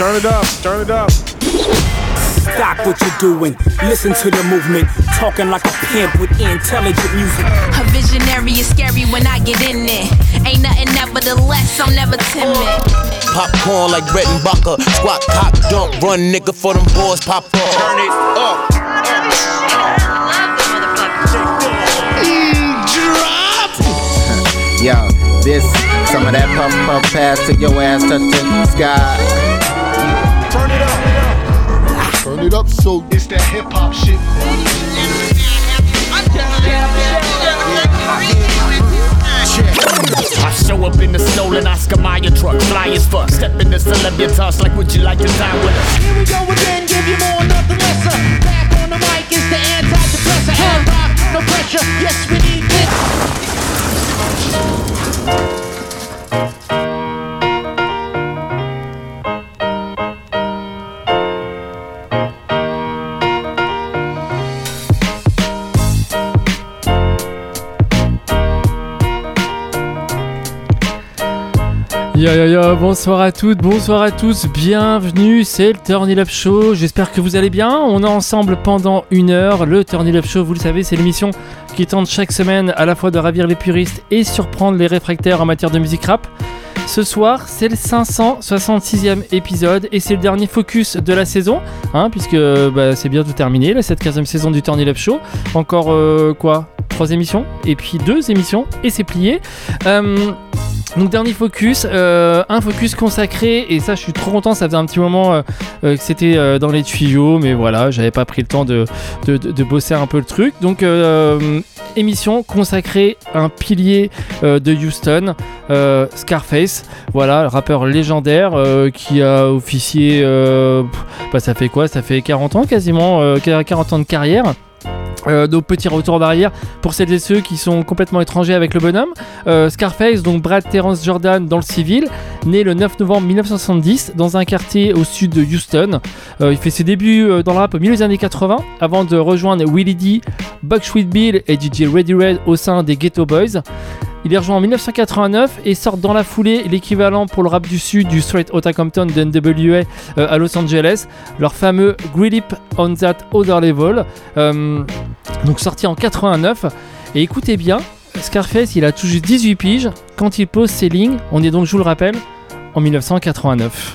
Turn it up, turn it up. Stop what you're doing, listen to the movement. Talking like a pimp with intelligent music. A visionary is scary when I get in it. Ain't nothing nevertheless, I'm never timid. Popcorn like Brett and Bucker. Squat, cock, dump, run, nigga, for them boys pop up. Turn it up. Drop. Yo, this, some of that puff pass to your ass, touch the sky. Turn it up. Turn it up, so It's that hip hop shit. I show up in the stolen Oscar Mayer truck, fly as fuck. Step in the celebritas like, would you like to dine with us? Here we go again, give you more, nothing lesser. Back on the mic is the antidepressant. And rock, no pressure, yes we need this. Yo, bonsoir à toutes, bonsoir à tous, bienvenue, c'est le Turn It Up Show, j'espère que vous allez bien, on est ensemble pendant 1 heure, le Turn It Up Show, vous le savez, c'est l'émission qui tente chaque semaine à la fois de ravir les puristes et surprendre les réfractaires en matière de musique rap. Ce soir, c'est le 566e épisode et c'est le dernier focus de la saison, puisque c'est bientôt terminé, là, cette 15e saison du Turn It Up Show. Encore 3 émissions et puis 2 émissions et c'est plié. Donc dernier focus, un focus consacré, et ça je suis trop content, ça faisait un petit moment que c'était dans les tuyaux, mais voilà, j'avais pas pris le temps de bosser un peu le truc. Donc émission consacrée à un pilier de Houston, Scarface, voilà, le rappeur légendaire qui a officié, ça fait quoi ? Ça fait 40 ans quasiment, 40 ans de carrière. Donc petit retour d'arrière pour celles et ceux qui sont complètement étrangers avec le bonhomme. Scarface, donc Brad Terrence Jordan dans le civil, né le 9 novembre 1970 dans un quartier au sud de Houston. Il fait ses débuts dans le rap au milieu des années 80 avant de rejoindre Willie D, Buckshot Bill et DJ Ready Red au sein des Ghetto Boys. Il est rejoint en 1989 et sort dans la foulée l'équivalent pour le rap du sud du Straight Outta Compton de NWA à Los Angeles, leur fameux Grip It on That Other Level, donc sorti en 89. Et écoutez bien, Scarface il a tout juste 18 piges quand il pose ses lignes, on est donc, je vous le rappelle, en 1989.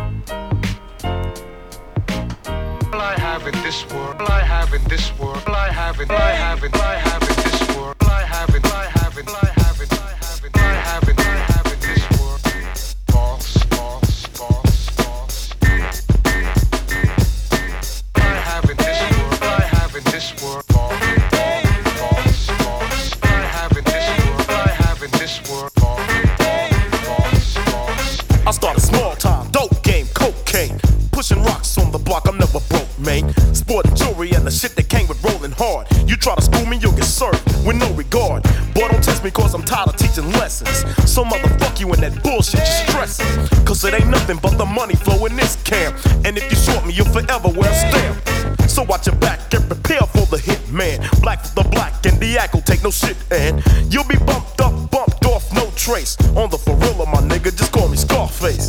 I started small time, dope game, cocaine. Pushing rocks on the block, I'm never broke, man. Sporting jewelry and the shit that came with rolling hard. You try to school me, you'll get served with no regard. Boy, don't test me cause I'm tired of teaching lessons. So motherfuck you and that bullshit you're stressing. Cause it ain't nothing but the money flow in this camp. And if you short me, you'll forever wear a stamp. So watch your back and prepare for the hit, man. Black for the black and the act will take no shit, and you'll be bumped up, bumped off, no trace. On the for real, my nigga, just call me Scarface.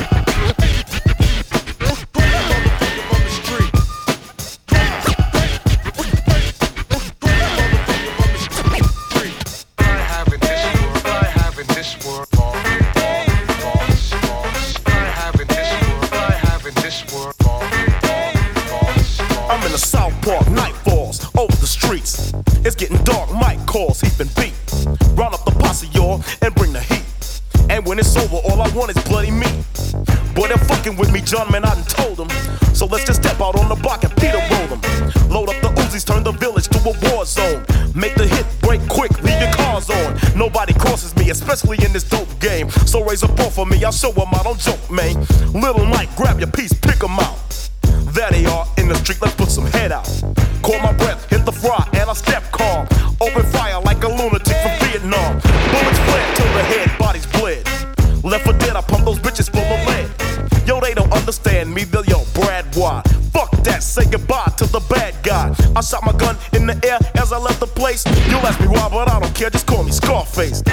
I'm in the South Park, night falls over the streets. It's getting dark, Mike calls, he been beat. Round up the posse, y'all, and bring the heat. And when it's over, all I want is bloody meat. Boy, they're fucking with me, John, man, I done told them. So let's just step out on the block and Peter roll them. Load up the Uzis, turn the village to a war zone. Make the hit, break quick, leave your cars on. Nobody crosses me, especially in this dope game. So raise a ball for me, I'll show them I don't joke, man. Little Mike, grab your piece, pick them out. There they are in the street, let's put some head out. Call my breath, hit the fry, and I step calm. Open fire like a lunatic from Vietnam. Bullets fled till the head, bodies bled. Left for dead, I pump those bitches full of lead. Yo, they don't understand me, yo, Brad, why? Fuck that, say goodbye to the bad guy. I shot my gun in the air as I left the place. You'll ask me why, but I don't care, just call me Scarface.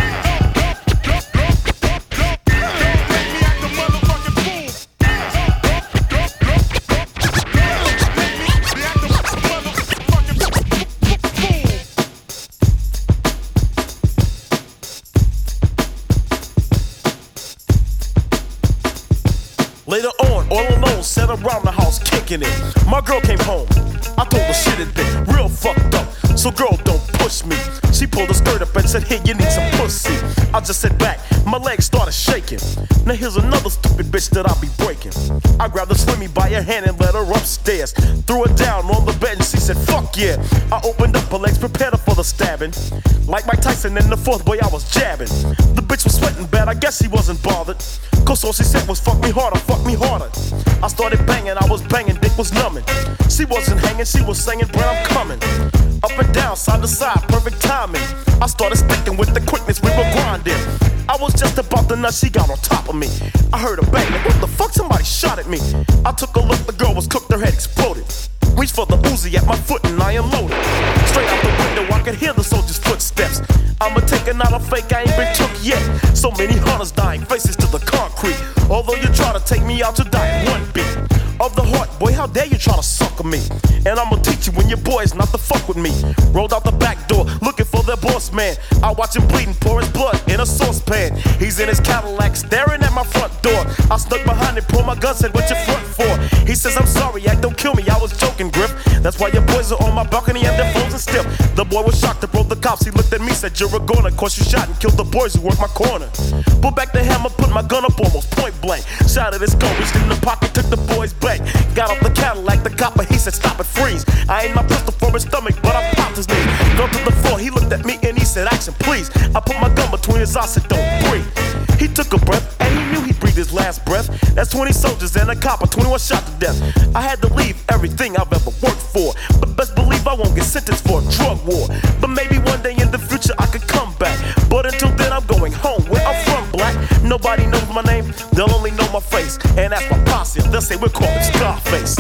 Later on, all alone, sat around the house kicking it. My girl came home. I told her shit had been real fucked up. So girl, don't push me. She pulled her skirt up and said, hey, you need some pussy. I just sat back, my legs started shaking. Now here's another stupid bitch that I'll be breaking. I grabbed the swimmy by her hand and led her upstairs. Threw her down on the bed and she said, fuck yeah. I opened up her legs, prepared her for the stabbing. Like Mike Tyson in the fourth, boy, I was jabbing. The bitch was sweating bad, I guess she wasn't bothered. Cause all she said was, fuck me harder, fuck me harder. I started banging, I was banging, dick was numbing. She wasn't hanging, she was singing, Brad, I'm coming. Up and down, side to side, perfect timing. I started sticking with the quickness, we were grinding. I was just about to nut, she got on top of me. I heard her bang, like, what the fuck, somebody shot at me. I took a look, the girl was cooked, her head exploded. Reached for the Uzi at my foot and I unloaded. Straight out the window, I could hear the soldier's footsteps. I'ma take it, not a fake, I ain't been took yet. So many hunters dying, faces to the concrete. Although you try to take me out, you die in one beat. Of the heart, boy, how dare you try to sucker me? And I'ma teach you when your boy's not to fuck with me. Rolled out the back door, looking for their boss man. I watch him bleeding, pour his blood in a saucepan. He's in his Cadillac, staring at my front door. I snuck behind him, pulled my gun, said, what you front for? He says, I'm sorry, Yak, don't kill me, I was joking, Griff. That's why your boys are on my balcony and they're frozen stiff. The boy was shocked, approached the cops, he looked at me, said, you're a goner, cause you shot and killed the boys who worked my corner. Pulled back the hammer, put my gun up almost point blank. Shot at his gun, reached in the pocket, took the boy's bank. Got off the Cadillac, the copper, he said, stop it, freeze. I aimed my pistol for his stomach, but I popped his knee. Fell to the floor, he looked at me and he said, action, please. I put my gun between his eyes, said, don't breathe. He took a breath, and he knew he'd breathe his last breath. That's 20 soldiers and a copper, 21 shot to death. I had to leave everything I've ever worked for, but best believe I won't get sentenced for a drug war. But maybe one day in the future I could come back. But until then I'm going home, where I'm from, black. Nobody knows my name, they'll only know my face. And that's my posse, they'll say we're calling Scarface.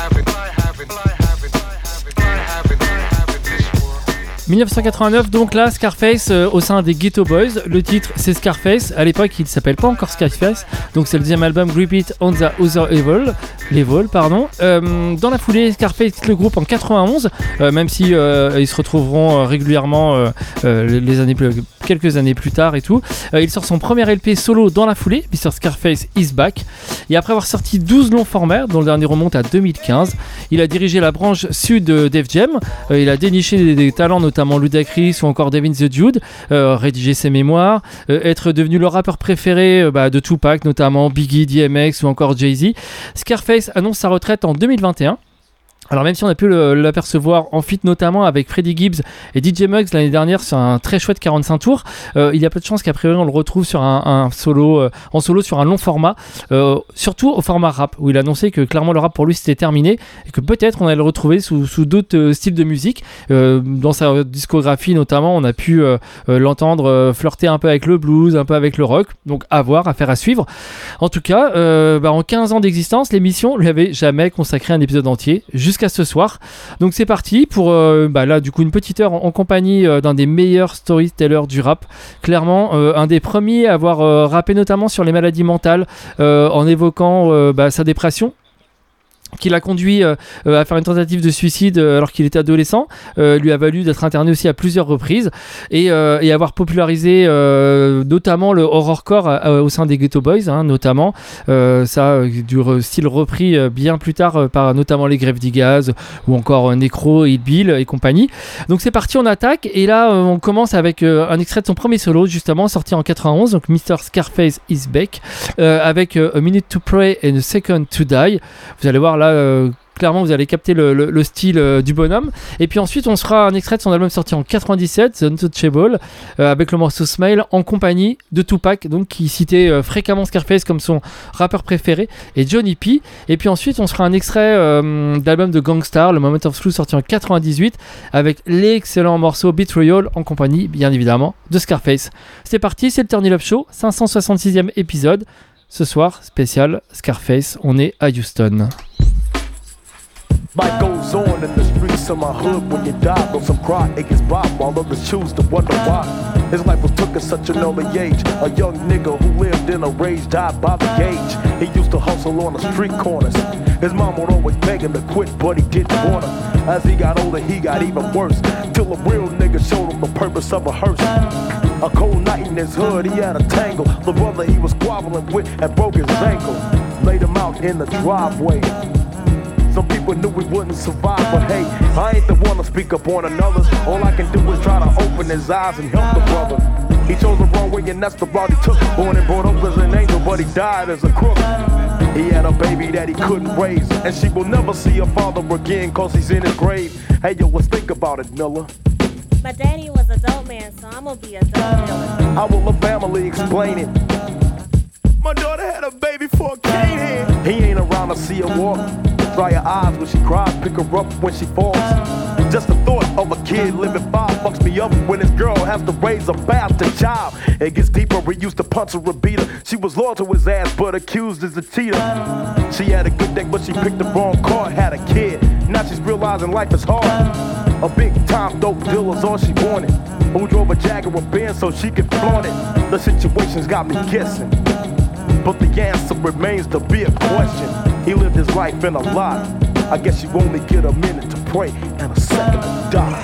1989, donc là, Scarface au sein des Ghetto Boys. Le titre, c'est Scarface. À l'époque, il s'appelle pas encore Scarface. Donc, c'est le deuxième album Grip It on the Other Level, pardon. Dans la foulée, Scarface quitte le groupe en 91, même si ils se retrouveront régulièrement quelques années plus tard et tout. Il sort son premier LP solo dans la foulée, Mr. Scarface is Back. Et après avoir sorti 12 longs formats, dont le dernier remonte à 2015, il a dirigé la branche sud de Def Jam. Il a déniché des talents, notamment Ludacris ou encore Devin the Dude, rédigé ses mémoires, être devenu le rappeur préféré de Tupac, notamment Biggie, DMX ou encore Jay-Z. Scarface annonce sa retraite en 2021. Alors même si on a pu l'apercevoir en feat notamment avec Freddie Gibbs et DJ Muggs l'année dernière sur un très chouette 45 tours, il y a peu de chances qu'à priori on le retrouve sur un solo, en solo sur un long format, surtout au format rap, où il a annoncé que clairement le rap pour lui c'était terminé et que peut-être on allait le retrouver sous d'autres styles de musique. Dans sa discographie notamment, on a pu l'entendre flirter un peu avec le blues, un peu avec le rock, donc à voir, affaire à suivre. En tout cas, en 15 ans d'existence, l'émission lui avait jamais consacré un épisode entier, jusqu'à ce soir. Donc c'est parti pour là du coup une petite heure en compagnie d'un des meilleurs storytellers du rap, clairement un des premiers à avoir rappé notamment sur les maladies mentales, en évoquant sa dépression qui l'a conduit à faire une tentative de suicide alors qu'il était adolescent, lui a valu d'être interné aussi à plusieurs reprises et avoir popularisé notamment le horrorcore au sein des Ghetto Boys, notamment ça du style repris bien plus tard par notamment les Grave Diggaz ou encore Necro, Hit Bill et compagnie. Donc c'est parti, on attaque et là on commence avec un extrait de son premier solo justement sorti en 91, donc Mr. Scarface is Back, avec A Minute to Pray and A Second to Die. Vous allez voir là clairement vous allez capter le style du bonhomme. Et puis ensuite on se fera un extrait de son album sorti en 97, The Untouchable, avec le morceau Smile en compagnie de Tupac, donc qui citait fréquemment Scarface comme son rappeur préféré, et Johnny P. Et puis ensuite on se fera un extrait d'album de Gangstar, le Moment of Truth sorti en 98, avec l'excellent morceau Betrayal en compagnie bien évidemment de Scarface. C'est parti, c'est le Turn It Up Show, 566e épisode. Ce soir, spécial Scarface, on est à Houston. Life goes on in the streets of my hood. When you die, though some cry, it gets by while others choose to wonder why. His life was took at such an early age. A young nigga who lived in a rage died by the gauge. He used to hustle on the street corners. His mom would always beg him to quit, but he didn't want her. As he got older, he got even worse, till a real nigga showed him the purpose of a hearse. A cold night in his hood, he had a tangle. The brother he was squabbling with had broke his ankle. Laid him out in the driveway. Some people knew we wouldn't survive, but hey, I ain't the one to speak up on another's. All I can do is try to open his eyes and help the brother. He chose the wrong way and that's the route he took. Born and brought up as an angel, but he died as a crook. He had a baby that he couldn't raise, and she will never see her father again cause he's in his grave. Hey yo, let's think about it, Miller. My daddy was a dope man, so I'm gonna be a dope dealer. How will the family explain it? My daughter had a baby for a cane head. He ain't around to see her walk. Dry her eyes when she cries, pick her up when she falls. Just the thought of a kid living 5 fucks me up when his girl has to raise a bastard child. It gets deeper, he used to punch her or beat her. She was loyal to his ass, but accused as a cheater. She had a good day, but she picked the wrong card, had a kid. Now she's realizing life is hard. A big time dope dealer's all she wanted. Who drove a Jaguar Benz so she could flaunt it. The situation's got me guessing, but the answer remains to be a question. He lived his life in a lie. I guess you only get a minute to pray and a second to die.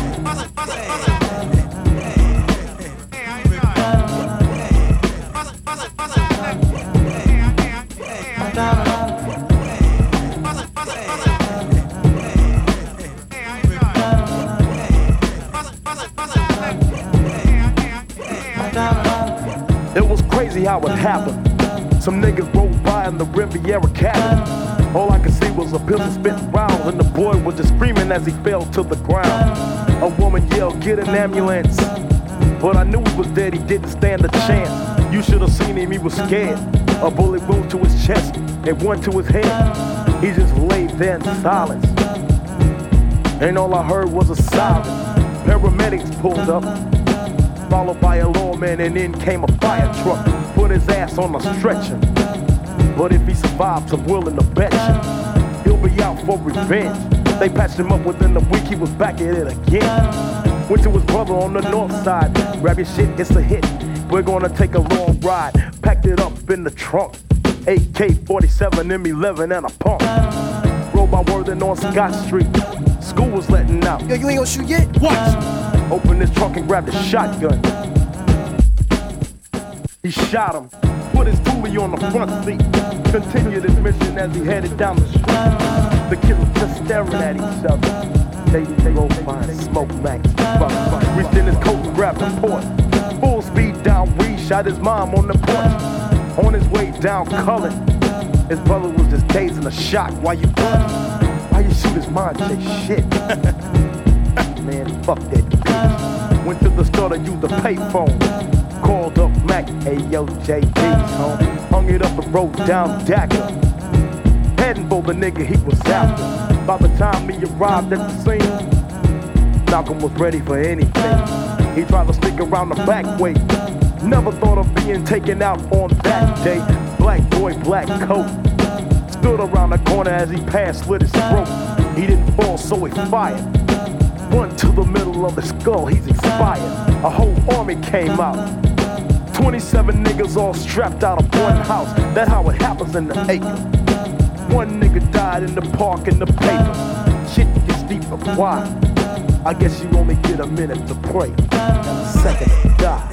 It was crazy how it happened. Some niggas rolled by in the Riviera cabin. All I could see was a pistol spitting rounds, and the boy was just screaming as he fell to the ground. A woman yelled, "Get an ambulance!" But I knew he was dead, he didn't stand a chance. You should have seen him, he was scared. A bullet wound to his chest and one to his head. He just laid there in silence, and all I heard was a siren. Paramedics pulled up, followed by a lawman, and then came a fire truck. Put his ass on a stretcher. But if he survives, I'm willing to bet you he'll be out for revenge. They patched him up within a week, he was back at it again. Went to his brother on the north side. Grab your shit, it's a hit. We're gonna take a long ride. Packed it up in the trunk. AK-47, M11 and a pump. Rode by Worthing on Scott Street. School was letting out. Yo, you ain't gonna shoot yet? Watch! Opened his trunk and grabbed a shotgun. He shot him. Put his toolie on the front seat. Continued his mission as he headed down the street. The kids were just staring at each other. They rolled by and smoked max. Reached in his coat and grabbed a port. Full speed down Reed, shot his mom on the porch. On his way down Cullen, his brother was just dazed in a shock. Why you run? Why you shoot his mom? Say shit. Man, fuck that bitch. Went to the store to use the payphone. Called up Mac, ayo, JD's home. Hung it up and rode down Dacker. Heading for the nigga he was after. By the time he arrived at the scene, Malcolm was ready for anything. He tried to sneak around the back way. Never thought of being taken out on that day. Black boy, black coat. Stood around the corner as he passed, slit his throat. He didn't fall, so he fired. One to the middle of his skull, he's expired. A whole army came out. 27 niggas all strapped out of one house. That's how it happens in the acre. One nigga died in the park in the paper. Shit gets deeper, why? I guess you only get a minute to pray and a second to die.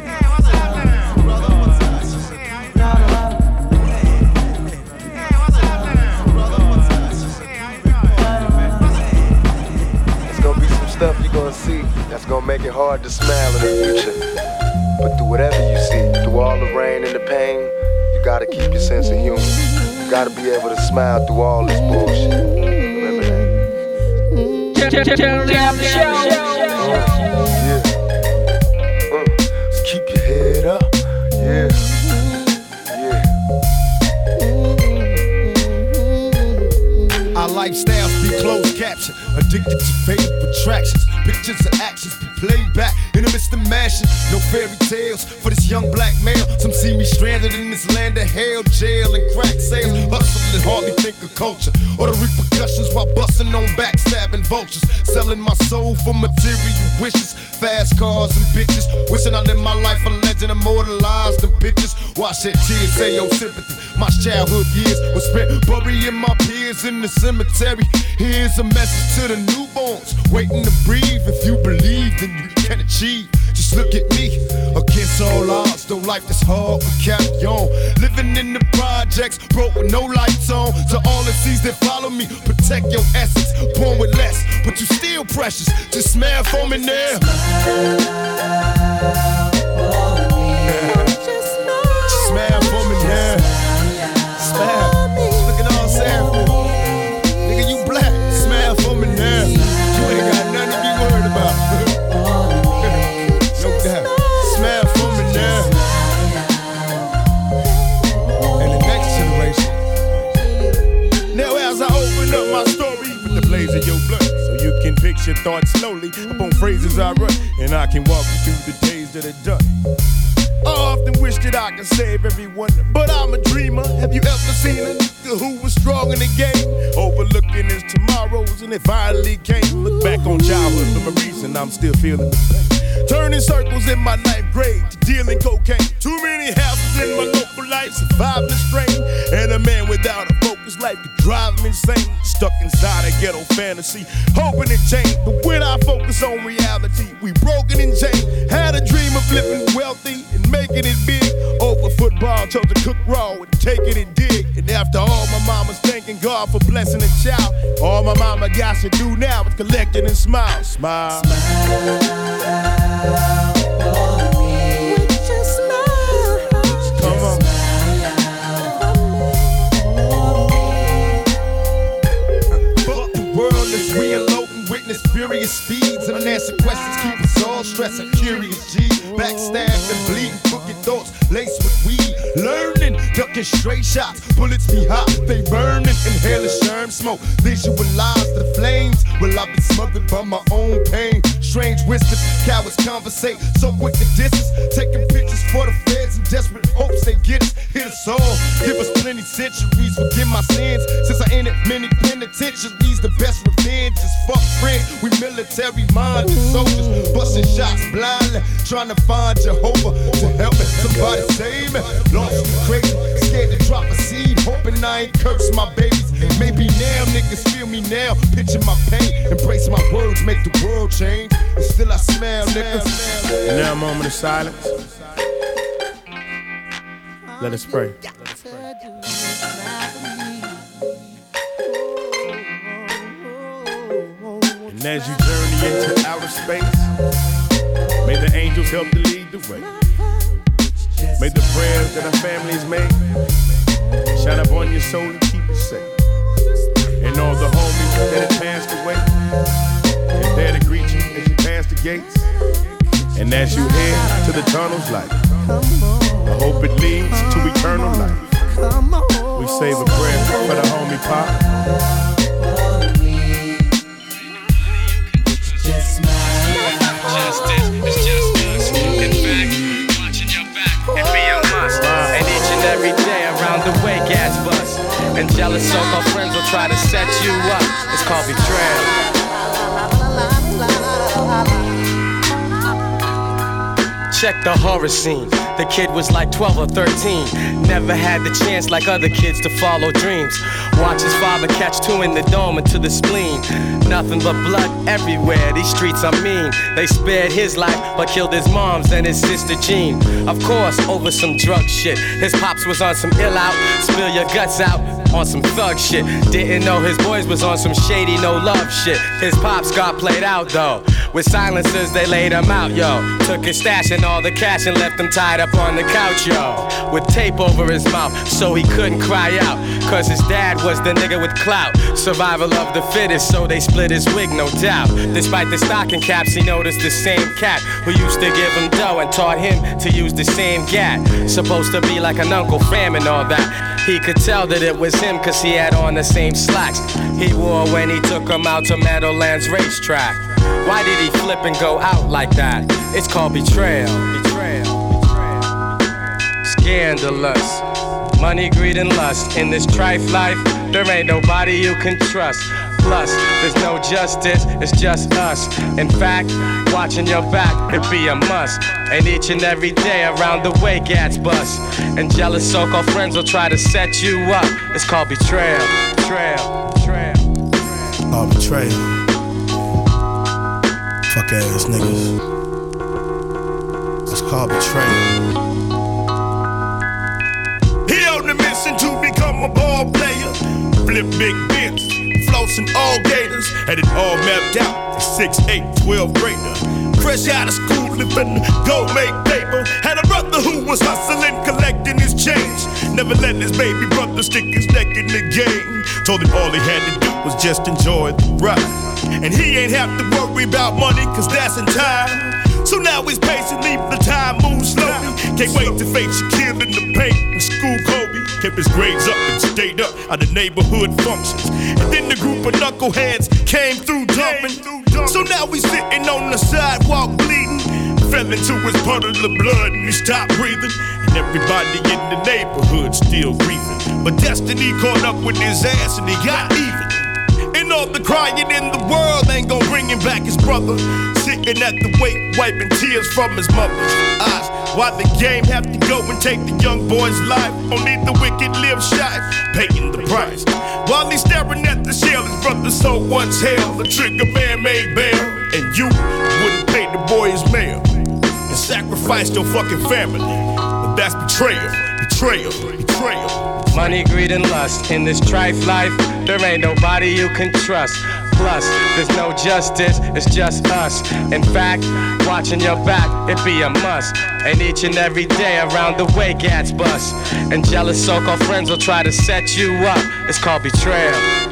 There's gonna be some stuff you're gonna see that's gonna make it hard to smile in the future. But through whatever you see, through all the rain and the pain, you gotta keep your sense of humor. You gotta be able to smile through all this bullshit. Remember that. So keep your head up. Yeah. Our lifestyles be closed caption, addicted to faded attractions. Pictures and actions be played back in the midst of mashing. No fairy tales for this young black male. Some see me stranded in this land of hell, jail and crack sales. Hustling and hardly think of culture or the repercussions while busting on backstabbing vultures. Selling my soul for material wishes. Fast cars and bitches. Wishing I lived my life a legend, immortalized in pictures. Watch that tears say your sympathy. My childhood years was spent burying my peers in the cemetery. Here's a message to the newborns waiting to breathe. If you believe, then you can achieve. Just Just look at me, against all odds, though life is hard, we carry on. Living in the projects, broke with no lights on. To all the seas that follow me, protect your essence. Born with less, but you still precious. Just smile for me now. Smile for me now. Smile. Look at all I'm saying for me. Nigga, you black. Smile for me now. You ain't got nothing to be worried about. No doubt. Smile for me now. And the next generation. Now as I open up my story with the blaze of your blood, so you can picture thoughts slowly upon phrases I run, and I can walk you through the days that are done. I often wish that I could save everyone, but I'm a dreamer. Have you ever seen a nigga who was strong in the game, overlooking his tomorrows, and it finally came? Look back on childhood memories and I'm still feeling the pain. Turning circles in my ninth grade to dealing cocaine. Too many houses in my local life, surviving the strain. And a man without a focus life could drive him insane. Stuck inside a ghetto fantasy, hoping it changed. But when I focus on reality, we broken and chained. Had a dream of living wealthy and making it big. Over football, chose to cook raw and take it and dig. And after all, my mama's thanking God for blessing a child. All my mama got to do now is collect it and smile. Smile. Come on. Fuck the world as we unload and witness furious speeds. Unanswered questions keep us all stressing. Curious G, backstabbed and bleeding, crooked thoughts laced with weed. Learning, ducking straight shots, bullets be hot, they burning. Inhaling sherm smoke, visualize the flames. Well, I've been smothered by my own pain. Strange whispers, cowards conversate, so quick to distance. Taking pictures for the feds in desperate hopes they get us. Hit us all, give us plenty centuries. Forgive my sins, since I ended many penitentiaries. The best revenge is fuck friends. We military-minded soldiers, busting shots blindly, trying to find Jehovah to help me. Somebody save me. Lost and crazy, scared to drop a seed, hoping I ain't curse my babies. Maybe now niggas feel me now, picture my pain, embrace my words, make the world change. And still I smell, niggas. Now a moment of silence. Let us pray. And as you journey into outer space, may the angels help to lead the way. May the prayers that our families made shine up on your soul and keep you safe. And all the homies that have passed away, they're there to greet you as you pass the gates. And as you head to the tunnel's light, I hope it leads to eternal life. We save a prayer for the homie Pop. Justice is just us. In fact, watching your back and be a must. And each and every day around the way, gas bus. And jealous so-called friends will try to set you up. It's called betrayal. Check the horror scene. The kid was like 12 or 13. Never had the chance like other kids to follow dreams. Watch his father catch two in the dome and to the spleen. Nothing but blood everywhere, these streets are mean. They spared his life but killed his mom's and his sister Jean. Of course, over some drug shit. His pops was on some ill out, spill your guts out on some thug shit. Didn't know his boys was on some shady no love shit. His pops got played out though. With silencers they laid him out, yo. Took his stash and all the cash and left him tied up on the couch, yo. With tape over his mouth so he couldn't cry out. Cause his dad was the nigga with clout. Survival of the fittest, so they split his wig, no doubt. Despite the stocking caps, he noticed the same cat who used to give him dough and taught him to use the same gat. Supposed to be like an Uncle Fam and all that. He could tell that it was him cause he had on the same slacks he wore when he took him out to Meadowlands racetrack. Why did he flip and go out like that? It's called betrayal. Scandalous. Money, greed, and lust. In this trife life, there ain't nobody you can trust. Plus, there's no justice, it's just us. In fact, watching your back, it'd be a must. And each and every day around the way, gats bust. And jealous so-called friends will try to set you up. It's called betrayal. Oh, betrayal. Fuck ass niggas. called betrayal. He on the mission to become a ball player. Flip big bins, floats and all gators. Had it all mapped out at 6'8", 12th grader. Fresh out of school, living go make paper. Had a brother who was hustling, collecting his change. Never let his baby brother stick his neck in the game. Told him all he had to do was just enjoy the ride. And he ain't have to worry about money, cause that's in time. So now he's patient, leave the time move slowly. Can't wait to face Shaquille in the paint and school Kobe. Kept his grades up and stayed up at the neighborhood functions. And then the group of knuckleheads came through jumping. So now he's sitting on the sidewalk bleeding. Fell into his puddle of blood and he stopped breathing. And everybody in the neighborhood still grieving. But destiny caught up with his ass and he got even. And all the crying in the world ain't gon' bring him back his brother. Sitting at the wake, wiping tears from his mother's eyes. Why the game have to go and take the young boy's life? Only the wicked live shy, paying the price. While he's staring at the shell, his brother so once held. The trigger man made bail, and you wouldn't pay the boy his mail. And sacrificed your fucking family. But that's betrayal, betrayal, betrayal. Money, greed, and lust. In this trife life, there ain't nobody you can trust. Plus, there's no justice, it's just us. In fact, watching your back, it be a must. And each and every day around the way, gats bust. And jealous so-called friends will try to set you up. It's called betrayal.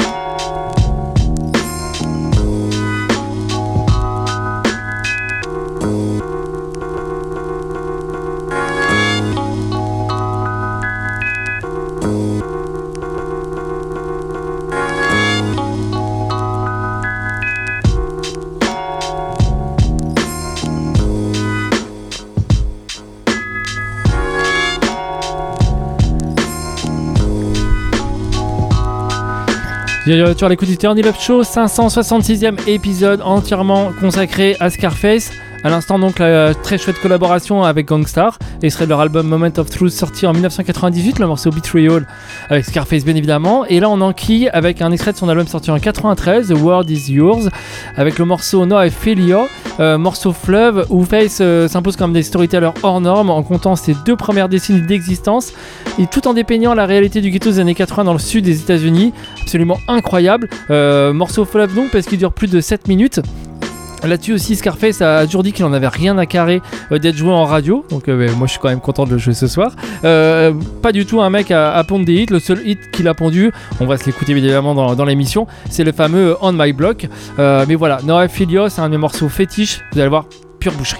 Sur l'écoute du Turn It Up Show, 566e épisode entièrement consacré à Scarface. À l'instant donc la très chouette collaboration avec Gang Starr, extrait de leur album Moment of Truth sorti en 1998, le morceau Betrayal avec Scarface bien évidemment. Et là on enquille avec un extrait de son album sorti en 93, The World Is Yours, avec le morceau No I Feel You, morceau fleuve où Face s'impose comme des storytellers hors normes en comptant ses 2 premières décennies d'existence et tout en dépeignant la réalité du ghetto des années 80 dans le sud des États-Unis. Absolument incroyable. Morceau fleuve donc parce qu'il dure plus de 7 minutes. Là-dessus aussi, Scarface a toujours dit qu'il en avait rien à carrer d'être joué en radio. Donc moi je suis quand même content de le jouer ce soir. Pas du tout un mec à pondre des hits. Le seul hit qu'il a pondu, on va se l'écouter évidemment dans l'émission, c'est le fameux On My Block. Mais voilà, No I Feel You, c'est un de mes morceaux fétiches. Vous allez voir, pure boucherie.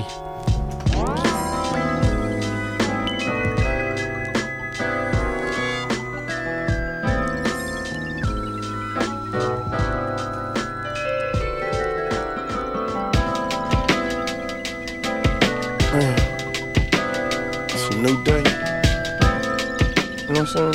New day. You know what I'm saying?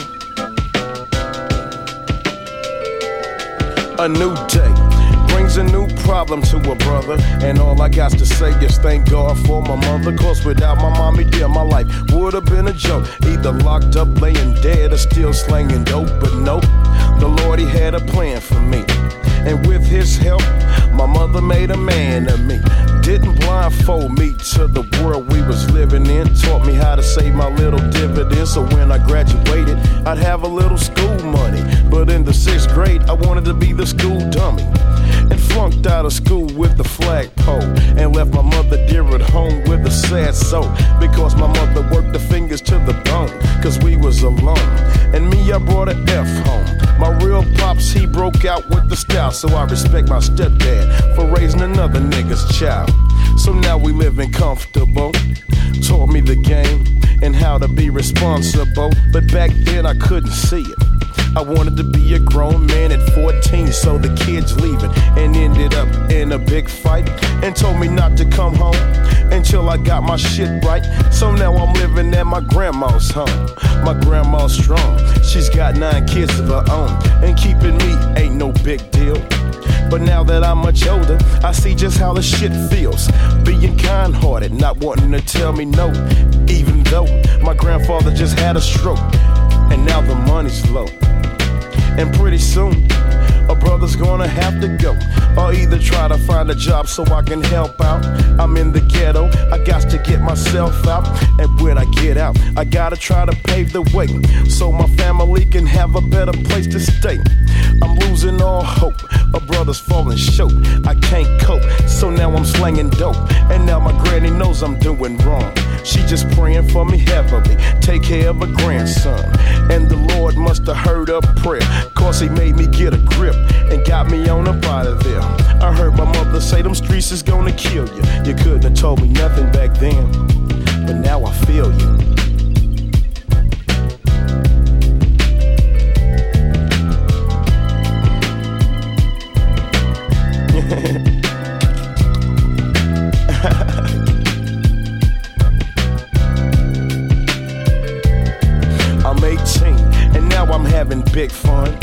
A new day brings a new problem to a brother. And all I got to say is thank God for my mother. Cause without my mommy, dear, my life would have been a joke. Either locked up, laying dead, or still slanging dope. But nope, the Lord, he had a plan for me. And with his help, my mother made a man of me. Didn't blindfold me to the world we was living in. Taught me how to save my little dividends. So when I graduated, I'd have a little school money. But in the 6th grade, I wanted to be the school dummy. And flunked out of school with the flagpole. And left my mother dear at home with a sad soul. Because my mother worked the fingers to the bone. Cause we was alone. And me, I brought an F home. My real pops, he broke out with the style. So I respect my stepdad for raising another nigga's child. So now we living comfortable. Taught me the game and how to be responsible. But back then I couldn't see it. I wanted to be a grown man at 14, so the kids leaving and ended up in a big fight and told me not to come home until I got my shit right. So now I'm living at my grandma's home. My grandma's strong, she's got 9 kids of her own, and keeping me ain't no big deal. But now that I'm much older, I see just how the shit feels. Being kind-hearted, not wanting to tell me no. Even though my grandfather just had a stroke, and now the money's low. And pretty soon, a brother's gonna have to go, or either try to find a job so I can help out. I'm in the ghetto, I got to get myself out, and when I get out, I gotta try to pave the way so my family can have a better place to stay. I'm losing all hope, a brother's falling short, I can't cope, so now I'm slanging dope, and now my granny knows I'm doing wrong. She just praying for me heavily, take care of her grandson, and the Lord must have heard her prayer, cause he made me get a grip and got me on up out of there. I heard my mother say them streets is gonna kill you. You couldn't have told me nothing back then, but now I feel you. I'm 18 and now I'm having big fun.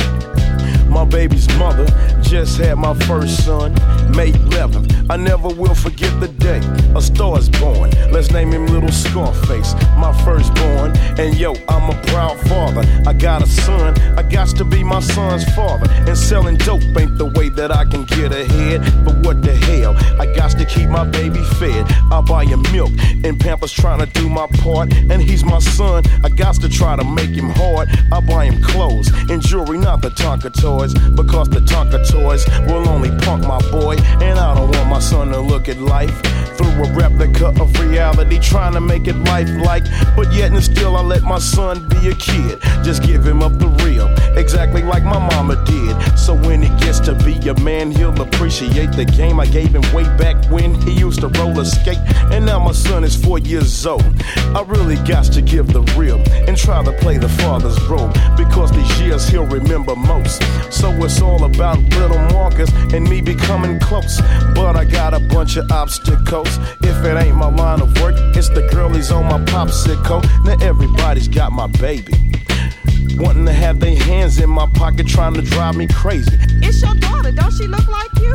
My baby's mother just had my first son, May 11th. I never will forget the day a star is born. Let's name him Little Scarface, my firstborn. And yo, I'm a proud father. I got a son, I got to be my son's father. And selling dope ain't the way that I can get ahead. But what the hell, I got to keep my baby fed. I buy him milk and Pampers trying to do my part. And he's my son, I got to try to make him hard. I buy him clothes and jewelry, not the Tonka toys, because the Tonka toys will only punk my boy. And I don't want my son to look at life through a replica of reality, trying to make it lifelike. But yet and still I let my son be a kid, just give him up the real, exactly like my mama did. So when he gets to be a man, he'll appreciate the game I gave him way back when he used to roller skate. And now my son is 4 years old. I really got to give the real and try to play the father's role, because these years he'll remember most. So it's all about little Marcus and me becoming close. But I got a bunch of obstacles. If it ain't my line of work, it's the girlies on my popsicle. Now everybody's got my baby, wanting to have their hands in my pocket, trying to drive me crazy. It's your daughter, don't she look like you?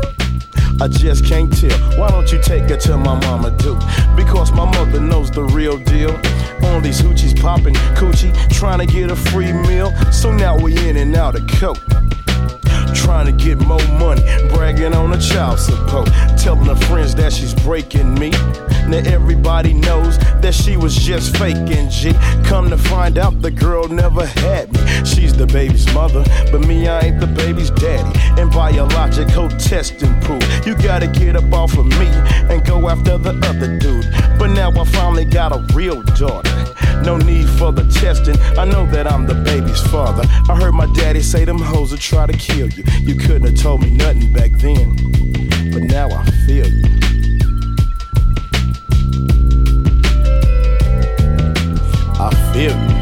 I just can't tell. Why don't you take her to my mama do? Because my mother knows the real deal. On these hoochies popping coochie, trying to get a free meal. So now we in and out of coke, trying to get more money, bragging on a child support, telling her friends that she's breaking me. Now everybody knows that she was just faking G. Come to find out the girl never had me. She's the baby's mother, but me, I ain't the baby's daddy. And biological testing proof you gotta get up off of me and go after the other dude. But now I finally got a real daughter, no need for the testing, I know that I'm the baby's father. I heard my daddy say them hoes will try to kill you. You couldn't have told me nothing back then, but now I feel you. I feel you.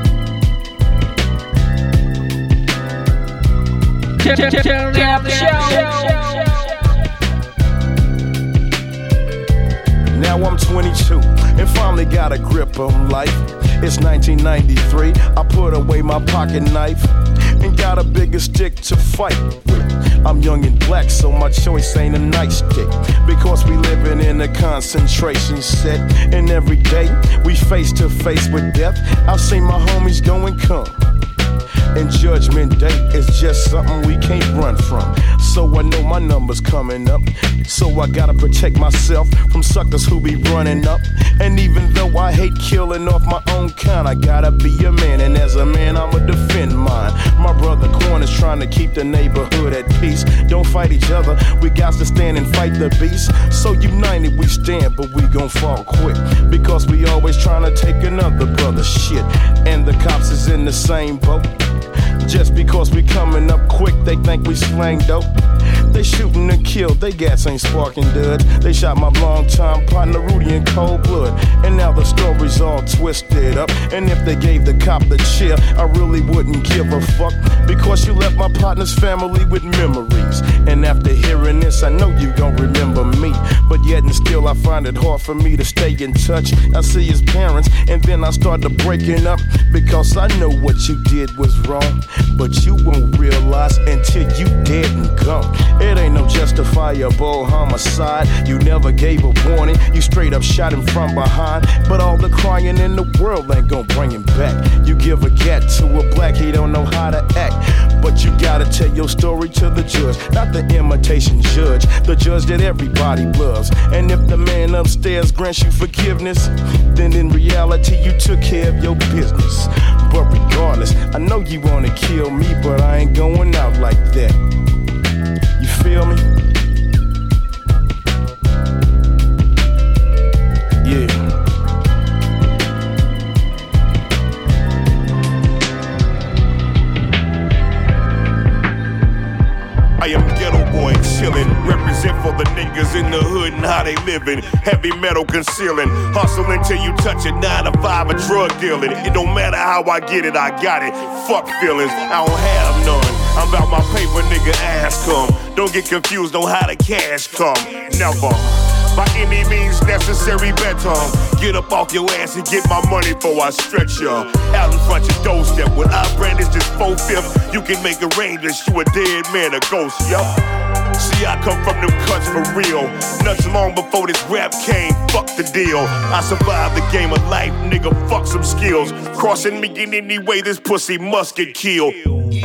Now I'm 22 and finally got a grip on life. It's 1993, I put away my pocket knife and got a bigger stick to fight with. I'm young and black, so my choice ain't a nightstick, because we living in a concentration set, and every day we face to face with death. I've seen my homies go and come, and Judgment Day is just something we can't run from. So I know my number's coming up, so I gotta protect myself from suckers who be running up. And even though I hate killing off my own kind, I gotta be a man, and as a man I'ma defend mine. My brother Quan is trying to keep the neighborhood at peace. Don't fight each other, we got to stand and fight the beast. So united we stand, but we gon' fall quick, because we always trying to take another brother's shit. And the cops is in the same boat. Just because we coming up quick, they think we slang dope. They shooting and kill, they gas ain't sparking duds. They shot my longtime partner Rudy in cold blood, and now the story's all twisted up. And if they gave the cop the chair, I really wouldn't give a fuck, because you left my partner's family with memories. And after hearing this, I know you gon' remember me, but yet and still I find it hard for me to stay in touch. I see his parents and then I start to breaking up, because I know what you did was wrong, but you won't realize until you dead and gone. It ain't no justifiable homicide. You never gave a warning, you straight up shot him from behind. But all the crying in the world ain't gon' bring him back. You give a gat to a black, he don't know how to act, but you gotta tell your story to the judge, not the imitation judge, the judge that everybody loves. And if the man upstairs grants you forgiveness, then in reality you took care of your business. But regardless, I know you wanna kill me, but I ain't going out like that. You feel me? Yeah. I am ghetto boy chillin', represent for the niggas in the hood and how they livin'. Heavy metal concealing, hustlin' till you touch it, 9 to 5 or drug dealing. It don't matter how I get it, I got it. Fuck feelings, I don't have none. I'm about my paper, nigga, ass come. Don't get confused on how the cash come. Never. By any means necessary, better get up off your ass and get my money before I stretch ya. Out in front your doorstep, when I brandish this 4/5, you can make arrangements, you a dead man, a ghost, yup. See, I come from them cuts for real. Nuts long before this rap came, fuck the deal. I survived the game of life, nigga, fuck some skills. Crossing me in any way, this pussy must get killed.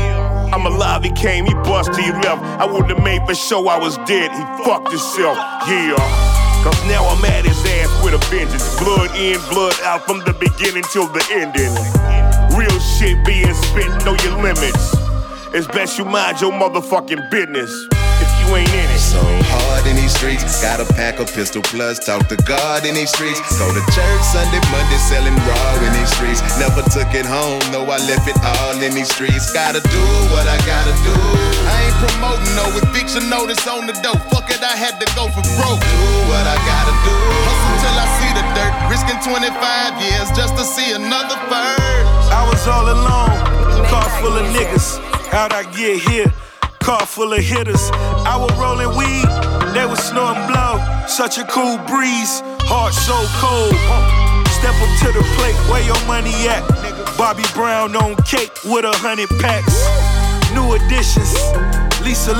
I'm alive, he came, he bust, he left. I wouldn't have made for sure I was dead, he fucked himself, yeah. Cause now I'm at his ass with a vengeance. Blood in, blood out from the beginning till the ending. Real shit being spit, know your limits. It's best you mind your motherfucking business if you ain't in it. So hard in these streets, got a pack of pistol plus, talk to God in these streets. Go to church Sunday, Monday, selling raw in these streets. Never took it home, no, I left it all in these streets. Gotta do what I gotta do. I ain't promoting no eviction notice on the dope. Fuck it, I had to go for broke. Do what I gotta do. Hustle till I see the dirt, risking 25 years just to see another bird. I was all alone, car full of niggas. How'd I get here? Car full of hitters. I was rolling weed, they was snorting blow. Such a cool breeze, heart so cold. Step up to the plate, where your money at? Bobby Brown on cake with 100 packs. New additions, Lisa,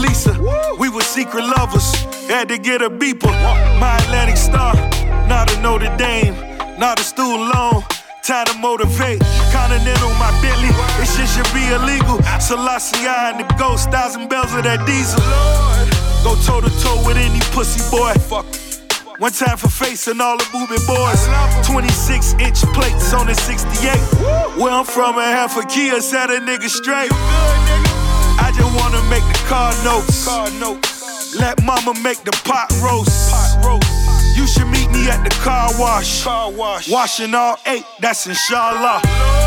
we were secret lovers. Had to get a beeper, my Atlantic Star. Not a Notre Dame, not a student loan. Time to motivate, Continental, my Bentley. This shit should be illegal. Selassie and the ghost, 1,000 bells of that diesel. Go toe to toe with any pussy boy. One time for face and all the moving boys. 26-inch plates on the 68. Where I'm from, a half a Kia set a nigga straight. I just wanna make the car notes. Let mama make the pot roast. You should meet me at the car wash. Washing all 8, that's inshallah.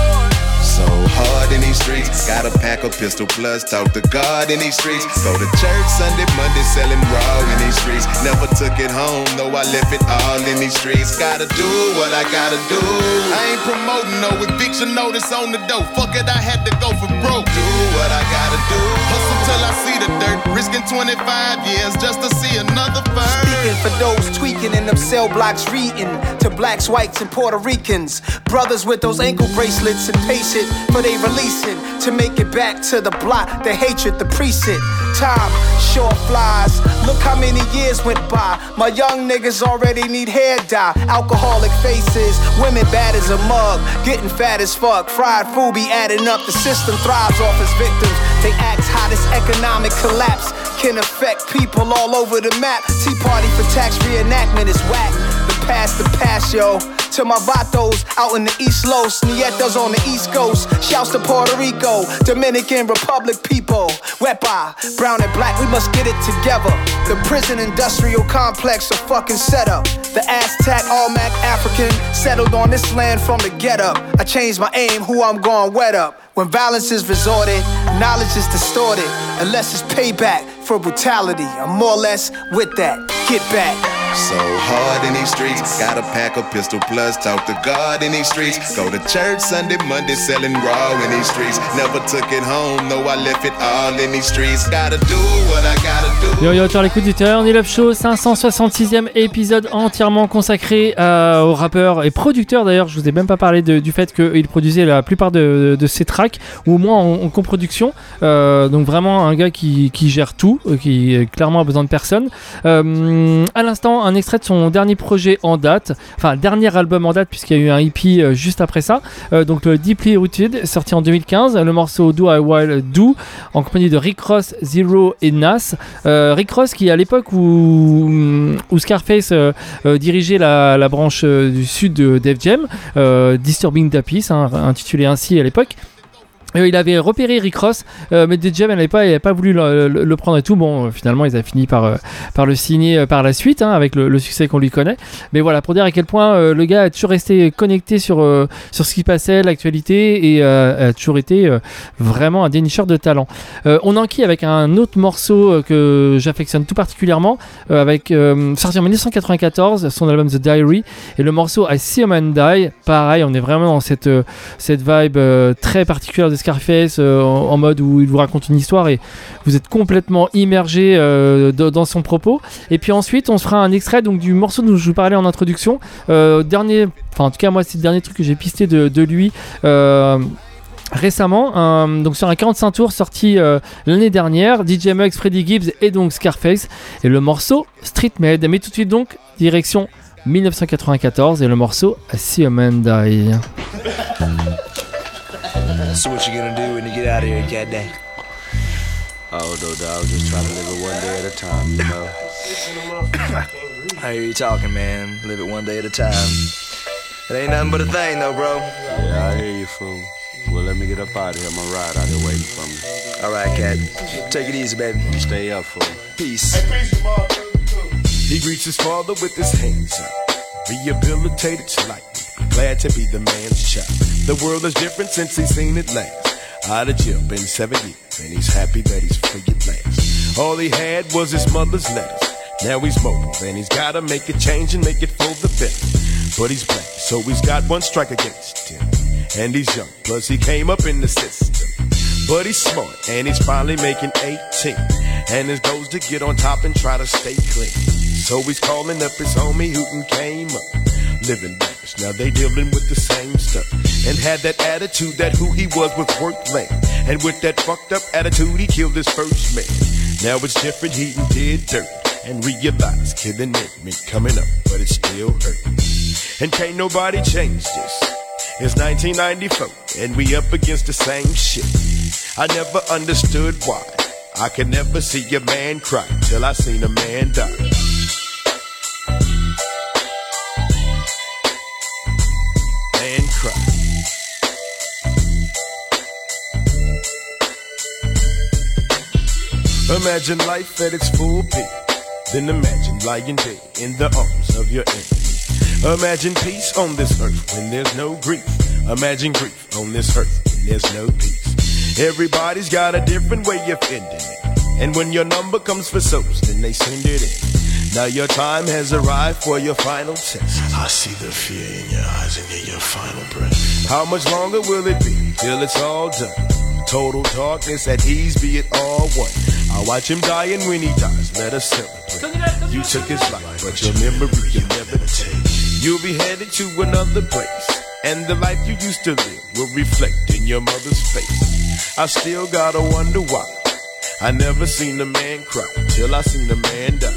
So hard in these streets, got a pack of pistol plus, talk to God in these streets. Go to church Sunday, Monday, selling raw in these streets. Never took it home, no, I left it all in these streets. Gotta do what I gotta do. I ain't promoting no eviction notice on the dope. Fuck it, I had to go for broke. Do what I gotta do. Hustle till I see the dirt, risking 25 years just to see another bird. Speaking for those tweaking in them cell blocks, reading to blacks, whites, and Puerto Ricans. Brothers with those ankle bracelets and patient for they releasing to make it back to the block, the hatred, the precinct. Time sure flies. Look how many years went by. My young niggas already need hair dye. Alcoholic faces, women bad as a mug, getting fat as fuck. Fried food be adding up. The system thrives off its victims. They ask how this economic collapse can affect people all over the map. Tea Party for tax reenactment is whack. The past, yo. To my vatos out in the East Los, Nietas on the East Coast. Shouts to Puerto Rico, Dominican Republic people. Wepa, brown and black, we must get it together. The prison industrial complex a fucking setup. The Aztec, All-Mac African, settled on this land from the get-up. I changed my aim, who I'm gon' wet up. When violence is resorted, knowledge is distorted. Unless it's payback for brutality, I'm more or less with that. Get back. So hard in these streets, got a pack of pistol plus, talk to God in these streets. Go to church Sunday, Monday, selling raw in these streets. Never took it home, no, I left it all in these streets. Gotta do what I gotta do. Yo, tu as l'écoute du Turn It Up Show, 566e épisode entièrement consacré au rappeur et producteur. D'ailleurs, je vous ai même pas parlé du fait qu'il produisait la plupart de ses tracks, ou au moins en coproduction. Donc vraiment un gars qui gère tout, qui clairement a besoin de personne. À l'instant, maintenant un extrait de son dernier projet en date, enfin dernier album en date puisqu'il y a eu un EP juste après ça, donc le Deeply Rooted, sorti en 2015, le morceau Do I Will Do, en compagnie de Rick Ross, Zero et Nas. Rick Ross qui à l'époque où Scarface dirigeait la branche du sud de Def Jam, Disturbing the Peace, intitulé ainsi à l'époque. Il avait repéré Rick Ross, mais Def Jam n'avait pas voulu le prendre et tout. Bon, finalement, ils ont fini par le signer par la suite, avec le succès qu'on lui connaît. Mais voilà, pour dire à quel point le gars a toujours resté connecté sur ce qui passait, l'actualité, et a toujours été vraiment un dénicheur de talent. On enquille avec un autre morceau que j'affectionne tout particulièrement, sorti en 1994, son album The Diary, et le morceau I See a Man Die. Pareil, on est vraiment dans cette vibe très particulière de Scarface, en mode où il vous raconte une histoire et vous êtes complètement immergé dans son propos. Et puis ensuite on se fera un extrait donc du morceau dont je vous parlais en introduction, en tout cas moi c'est le dernier truc que j'ai pisté de lui récemment, donc sur un 45 tours sorti l'année dernière, DJ Muggs, Freddie Gibbs et donc Scarface, et le morceau Street Made. Mais tout de suite donc direction 1994 et le morceau I See a Man Die. So what you gonna do when you get out of here, cat dang? Oh, no, dog, just trying to live it one day at a time, you know? I hear you talking, man. Live it one day at a time. It ain't nothing but a thing, though, bro. Yeah, I hear you, fool. Well, let me get up out of here. My ride out here waiting for me. All right, cat. Take it easy, baby. Stay up, fool. Peace. He greets his father with his hands up, rehabilitated slightly, glad to be the man's child. The world is different since he's seen it last. Out of jail, been 7 years, and he's happy that he's free at last. All he had was his mother's letters. Now he's mobile, and he's gotta make a change and make it for the better. But he's black, so he's got one strike against him. And he's young, plus he came up in the system. But he's smart, and he's finally making 18. And his goal's to get on top and try to stay clean. So he's calling up his homie who came up, living lavish. Now they dealing with the same stuff, and had that attitude that who he was worth laying. And with that fucked up attitude, he killed his first man. Now it's different, he did dirt, and realized killing it meant coming up, but it still hurt. And can't nobody change this. It's 1994, and we up against the same shit. I never understood why I could never see a man cry till I seen a man die. Man cry. Imagine life at its full peak, then imagine lying dead in the arms of your enemy. Imagine peace on this earth when there's no grief. Imagine grief on this earth when there's no peace. Everybody's got a different way of ending it, and when your number comes for souls, then they send it in. Now your time has arrived for your final test. I see the fear in your eyes and hear your final breath. How much longer will it be till it's all done? Total darkness, at ease, be it all one. I watch him die, and when he dies, let us celebrate. You took his life, but your memory you'll never take. You'll be headed to another place, and the life you used to live will reflect in your mother's face. I still gotta wonder why I never seen a man cry till I seen a man die.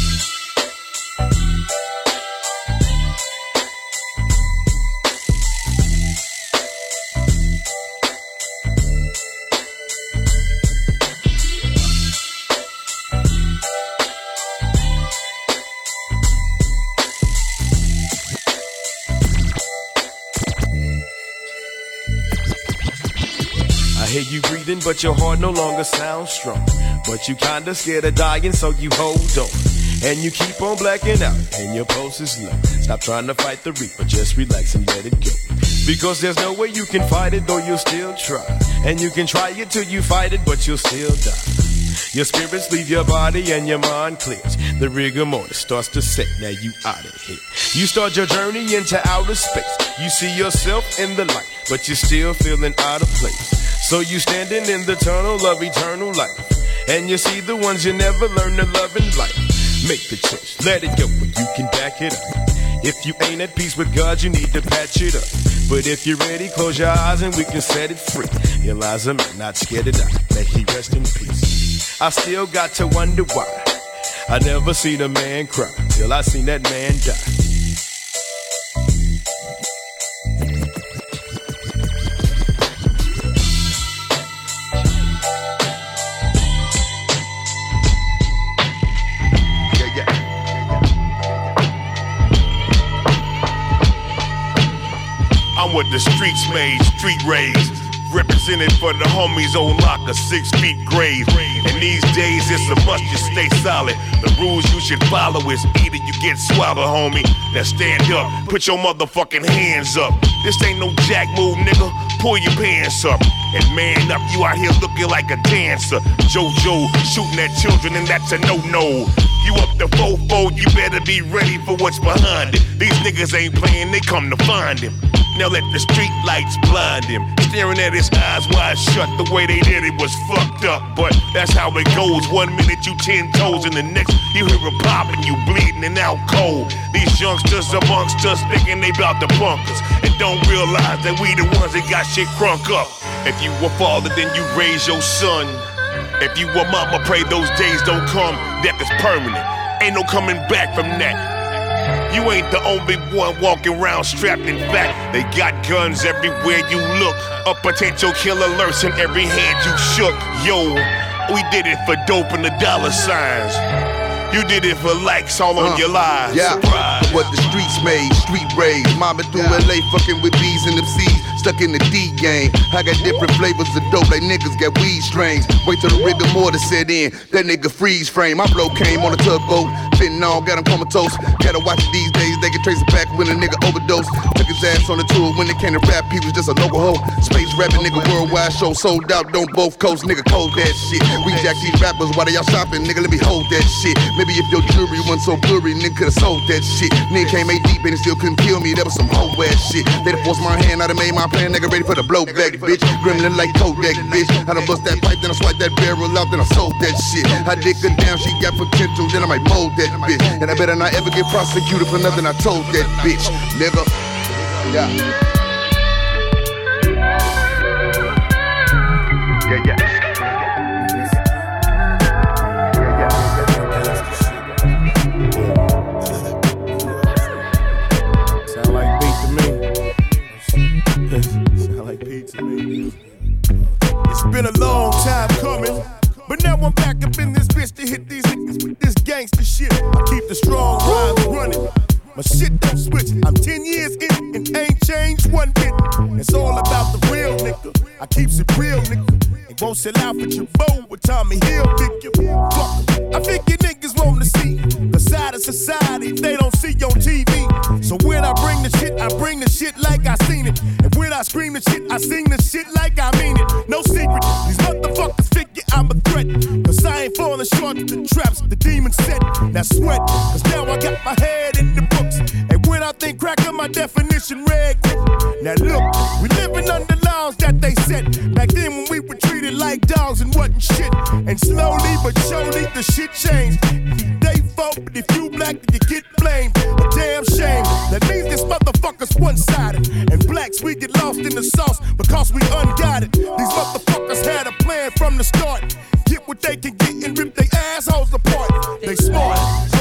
I hear you breathing, but your heart no longer sounds strong. But you kinda scared of dying, so you hold on. And you keep on blacking out, and your pulse is low. Stop trying to fight the reaper, just relax and let it go. Because there's no way you can fight it, though you'll still try. And you can try it till you fight it, but you'll still die. Your spirits leave your body and your mind clears. The rigor mortis starts to set, now you out of here. You start your journey into outer space. You see yourself in the light, but you're still feeling out of place. So you standing in the tunnel of eternal life, and you see the ones you never learned to love in life. Make the choice, let it go, but you can back it up. If you ain't at peace with God, you need to patch it up. But if you're ready, close your eyes and we can set it free. Eliza, man, not scared to die, may he rest in peace. I still got to wonder why I never seen a man cry till I seen that man die. I'm what the streets made, street raised. Represented for the homies on lock, a 6 feet grave. And these days it's a must you stay solid. The rules you should follow is either you get swallowed, homie. Now stand up, put your motherfucking hands up. This ain't no jack move, nigga. Pull your pants up and man up. You out here looking like a dancer. JoJo shooting at children and that's a no-no. You up the fofo, you better be ready for what's behind it. These niggas ain't playing, they come to find him. Now let the street lights blind him. Staring at his eyes wide shut, the way they did it was fucked up. But that's how it goes. 1 minute you 10 toes, and the next you hear a pop and you bleeding and out cold. These youngsters amongst us thinking they bout to punk us and don't realize that we the ones that got shit crunk up. If you a father, then you raise your son. If you a mama, pray those days don't come. Death is permanent. Ain't no coming back from that. You ain't the only one walking around strapped. In fact, they got guns everywhere you look. A potential killer lurks in every hand you shook. Yo, we did it for dope and the dollar signs. You did it for likes all on your lives. Yeah, surprise. What the streets made, street raised. Mama through LA fucking with B's and them C's. Stuck in the D game. I got different flavors of dope like niggas got weed strains. Wait till the rigor mortis set in. That nigga freeze frame. My blow came on a tugboat. Fentanyl got him comatose. Gotta watch it these days. They can trace it back when a nigga overdose. Took his ass on the tour when it came to rap. He was just a local hoe. Space rapping nigga worldwide show sold out. Don't both coast nigga cold that shit. We jack these rappers while they out shopping. Nigga let me hold that shit. Maybe if your jewelry wasn't so blurry, nigga could've sold that shit. Nigga came 8 deep and it still couldn't kill me. That was some whole ass shit. They'd forced my hand, I'd have made my plan. Nigga ready for the blowback, bitch. Gremlin like Kodak, bitch. I done bust that pipe, then I swipe that barrel out, then I sold that shit. I dick her down, she got potential, then I might mold that bitch. And I better not ever get prosecuted for nothing I told that bitch, nigga. Yeah. Yeah. It's been a long time coming, but now I'm back up in this bitch to hit these niggas with this gangster shit. I keep the strong rhymes running. My shit don't switch. I'm 10 years in and ain't changed one bit. It's all about the real nigga. I keeps it real nigga. It won't sell out for your bow with Tommy Hill, nigga. Fuck. I think you niggas want to see the side of society they don't see on TV. So when I bring the shit like I seen it. And when I scream the shit, I sing the shit like I mean it. No secret, these motherfuckers figure I'm a threat. Cause I ain't falling short of the traps the demons set. Now sweat, cause now I got my head in the books. And when I think cracker, my definition red. Now look, we living under laws that they set. Back then when we were treated like dogs and wasn't shit. And slowly but surely the shit changed. They vote, but if you black, then you get blamed. A damn shame. That means this motherfucker's one-sided. And blacks, we get lost in the sauce because we unguided. These motherfuckers had a plan from the start. Get what they can get and rip their assholes apart. They smart.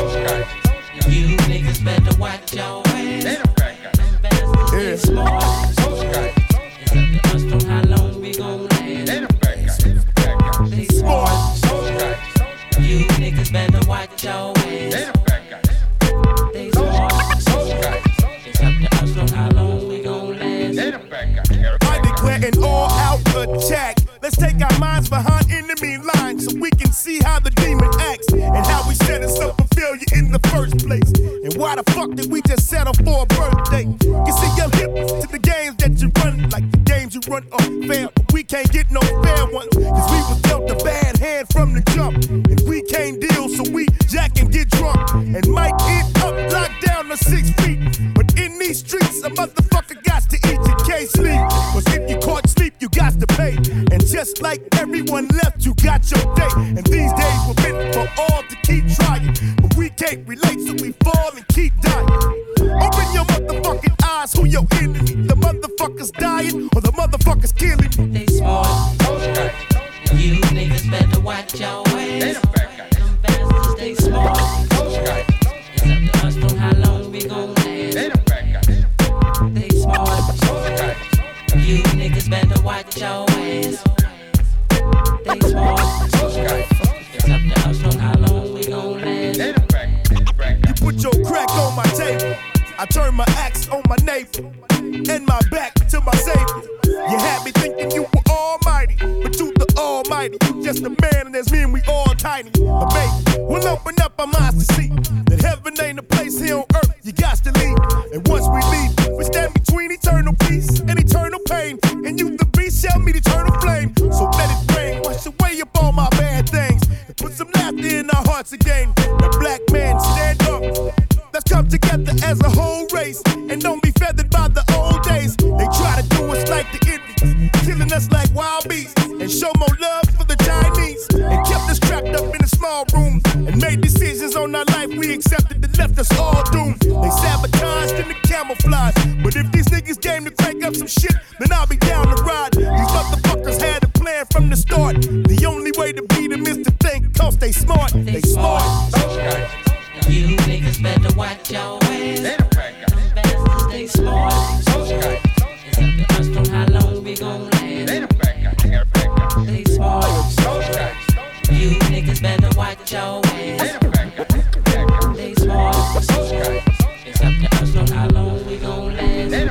You niggas better watch your ass. They smart. It's up to us on how long we gon' last. They smart. You niggas better watch your ass. They smart. It's up to us on how long we gon' last. I declare an all-out attack. Let's take our minds behind enemy lines so we can see how the demon acts and how we set us up for failure in the first place. And why the fuck did we just settle for a birthday? You see, I'm hip to the games that you run, like the games you run unfair. But we can't get no fair ones, cause we was dealt a bad hand from the jump. And we can't deal, so we jack and get drunk. And might end up locked down to 6 feet. But in these streets, a motherfucker got to eat, you can't sleep. Cause if you caught sleep, you got to pay. And just like everyone left, you got your day. And these days were meant for all to keep trying. But we can't relate, so we fall and keep dying. Open your motherfucking eyes, who your enemy? The motherfuckers dying or the motherfuckers killing? They smart. You niggas better watch your ass. Them bastards, they smart. turn my axe on my neighbor and my back to my savior. You had me thinking you were almighty, but you the almighty. You just a man and there's me and we all tiny. But baby, we'll open up our minds to see that heaven ain't a place here on earth. You got to leave, and once we leave, we stand between eternal peace and eternal pain. And you the beast shall meet eternal flame. So let it rain, wash away up all my bad things, and put some laughter in our hearts again. Now black men, stand up. Let's come together as a whole race and don't be feathered by the old days. They try to do us like the Indians, killing us like wild beasts, and show more love for the Chinese, and kept us trapped up in a small room and made decisions on our life we accepted that left us all doomed. They sabotaged and the camouflage, but if these niggas came to crank up some shit, then I'll be down to ride. These motherfuckers had a plan from the start. The only way to beat them is to think, cause they smart. They smart. Okay. You niggas better watch your ass. Bastards, stay smart. It's up to us on how long we gon' last. Stay smart. You niggas better watch your ass. Stay smart. It's up to us on how long we gon' last.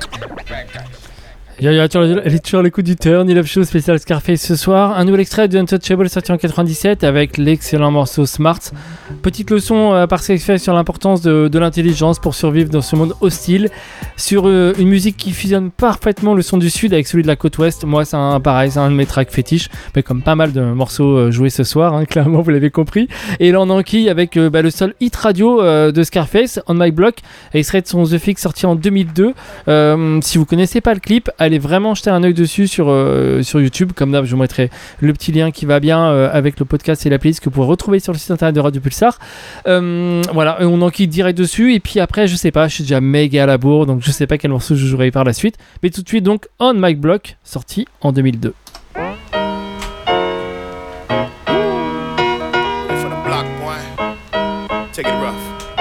Elle est toujours à l'écoute du Turn It Up Show spécial Scarface ce soir. Un nouvel extrait de Untouchable sorti en 97 avec l'excellent morceau Smart. Petite leçon par Scarface sur l'importance de l'intelligence pour survivre dans ce monde hostile. Sur une musique qui fusionne parfaitement le son du sud avec celui de la côte ouest. Moi, c'est un de mes tracks fétiches, mais comme pas mal de morceaux joués ce soir, hein, clairement, vous l'avez compris. Et là, on enquille avec le seul hit radio de Scarface, On My Block, extrait de son The Fix sorti en 2002. Si vous connaissez pas le clip, allez vraiment jeter un œil dessus sur YouTube. Comme d'hab, je vous mettrai le petit lien qui va bien avec le podcast et la playlist que vous pourrez retrouver sur le site internet de Radio Pulsar. Voilà, on enquille direct dessus. Et puis après, je sais pas, je suis déjà méga à la bourre, donc je sais pas quel morceau je jouerai par la suite. Mais tout de suite, donc, On My Block, sorti en 2002. Take it rough.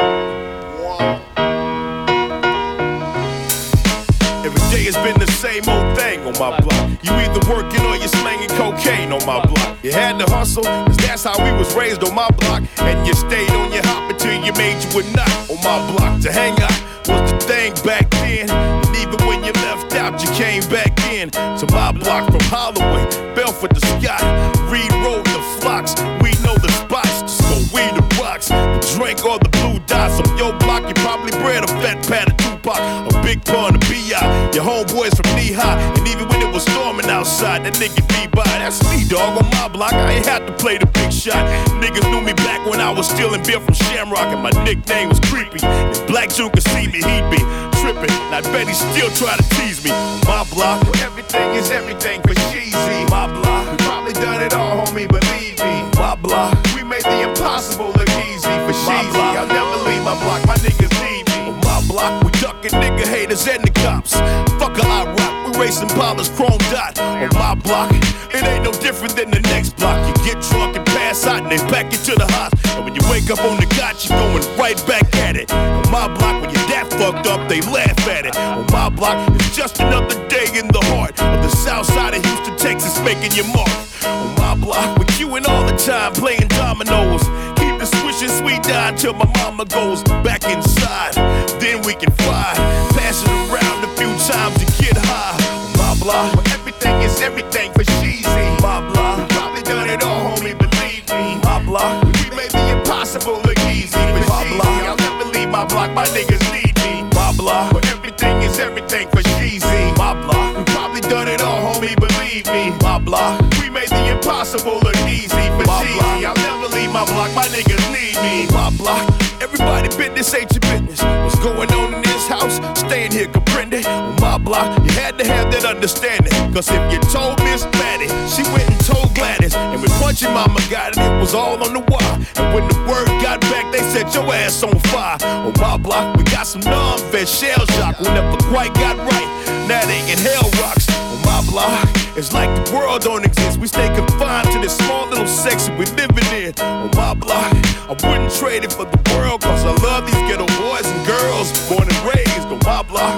Every day has been the same old thing on my block. You either working or you're slanging cocaine on my block. You had to hustle, cause that's how we was raised on my block. And you stayed on your hop until you made you a knot on my block. To hang out was the thing back then. And even when you left out, you came back in. To my block from Holloway, Belford to Scott, Reed Road to Flocks. We know the spots, just go weed the rocks. The drink or the blue dots on your block. You probably bred a fat pat of Tupac, a big pun of B.I. Your homeboys from knee high, and even when it was storming outside, that nigga be by. That's me, dog, on my block. I ain't had to play the big shot. Niggas knew me back when I was stealing beer from Shamrock, and my nickname was Creepy. If Black June could see me, he'd be tripping. And I bet he still try to tease me. My block, everything is everything for cheesy. My block, we probably done it all, homie, believe me. My block, we made the impossible look easy for cheesy. I'll never leave my block, my niggas need me. On my block, we ducking nigga haters and the cops. Fuck a I rock, we racing Pollard's chrome dot. On my block, it ain't no different than the next block. You get drunk and pass out and they pack you to the hospital. And when you wake up on the got, you going right back at it. On my block, when you're that fucked up, they laugh at it. On my block, it's just another day in the heart of the south side of Houston, Texas, making your mark. On my block, we're queuing all the time, playing dominoes. Keep the swishing sweet down till my mama goes back inside. Then we can fly, pass it around a few times to get high. On my block, where everything is everything for cheesy. My block, we probably done it all, homie, believe me. My block, we made the impossible look easy for cheesy. I'll never leave my block, my niggas need me. My block, where everything is everything for cheesy. My block, we probably done it all, homie, believe me. My block, we made the impossible look easy for cheesy. I'll never leave my block, my niggas need me. My block, everybody business ain't your business. What's going on in this house? Staying here, comprende? On my block, you had to have that understanding. Cause if you told Miss Maddie, she went and told Gladys. And when Punchy Mama got it, it was all on the wire. And when the word got back, they set your ass on fire. On my block, we got some non-vet shell shock who never quite got right. Now they in hell rocks. On my block, it's like the world don't exist. We stay confined to this small little section we living in. On my block, I wouldn't trade it for the world. Cause I love these ghetto boys and girls born and raised on my block.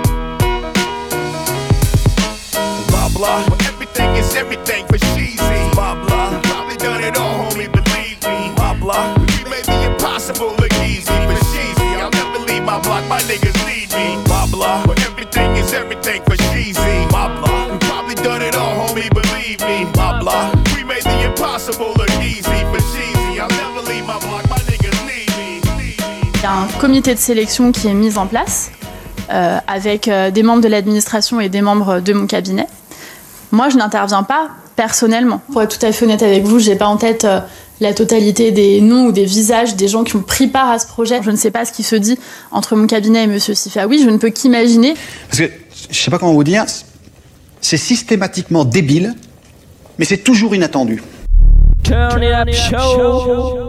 On my block, where everything is everything for cheesy. Blah blah. Probably done it all, homie, believe me. Blah blah. We made the impossible look easy, but sheezy. I'll never leave my block, my niggas need me. Blah blah. But everything is everything for sheezy. Blah blah. We probably done it all, homie, believe me. Blah blah. We made the impossible look easy, but sheezy. I'll never leave my block, my niggas need me. Il y a un comité de sélection qui est mis en place avec des membres de l'administration et des membres de mon cabinet. Moi, je n'interviens pas personnellement. Pour être tout à fait honnête avec vous, j'ai pas en tête la totalité des noms ou des visages des gens qui ont pris part à ce projet. Je ne sais pas ce qui se dit entre mon cabinet et Monsieur Sifaoui. Je ne peux qu'imaginer. Parce que, je sais pas comment vous dire, c'est systématiquement débile, mais c'est toujours inattendu. Turn it up show.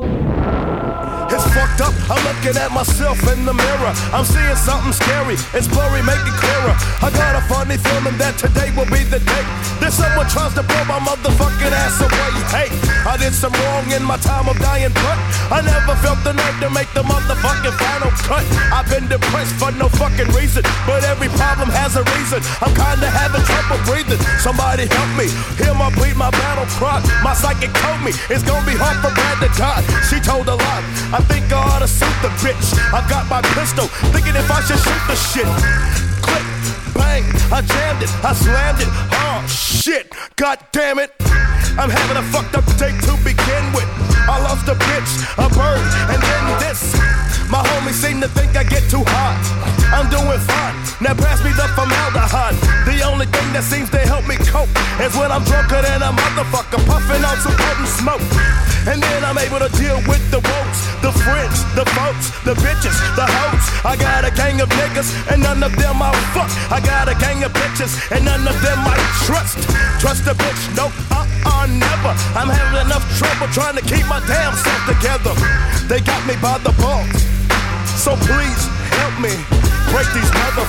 It's fucked up, I'm looking at myself in the mirror. I'm seeing something scary, it's blurry, make it clearer. I got a funny feeling that today will be the day that someone tries to blow my motherfucking ass away. Hey, I did some wrong in my time of dying, but I never felt the nerve to make the motherfucking final cut. I've been depressed for no fucking reason, but every problem has a reason. I'm kinda having trouble breathing. Somebody help me, hear my bleed, my battle cry. My psychic told me it's gonna be hard for Brad to die. She told a lie, I think I ought to shoot the bitch. I got my pistol, thinking if I should shoot the shit. Click, bang, I jammed it, I slammed it. Oh shit, god damn it. I'm having a fucked up day to begin with. I lost a bitch, a bird, and then this. My homies seem to think I get too hot. I'm doing fine, now pass me the formaldehyde. The only thing that seems to help me cope is when I'm drunker than a motherfucker, puffing on some potent smoke. And then I'm able to deal with the woes, the friends, the folks, the bitches, the hoes. I got a gang of niggas and none of them I'll fuck. I got a gang of bitches and none of them I trust. Trust a bitch, nope, never. I'm having enough trouble trying to keep my damn self together. They got me by the balls, so please help me break these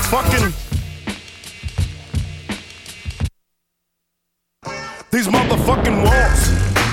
motherfucking walls.